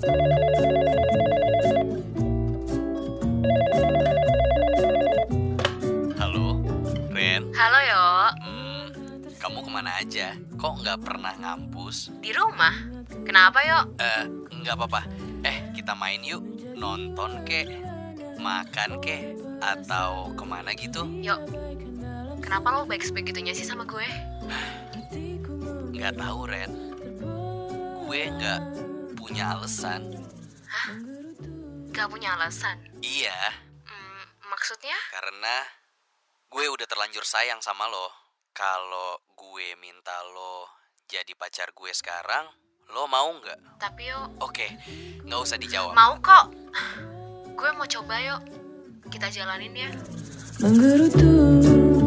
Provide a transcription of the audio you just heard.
Halo, Ren. Halo Yo. Kamu kemana aja? Kok nggak pernah ngampus? Di rumah? Kenapa Yo? Nggak apa-apa. Kita main yuk. Nonton kek, makan kek, atau kemana gitu? Yo, kenapa lo baik sebegitunya sih sama gue? Nggak tahu, Ren. Gue nggak punya alasan. Hah? Gak punya alasan? Iya, Maksudnya? karena gue udah terlanjur sayang sama lo. Kalau gue minta lo jadi pacar gue sekarang, lo mau nggak? Tapi Yo, Oke, nggak usah dijawab. mau kok. Gue mau coba Yo. Kita jalanin ya. Menggerutu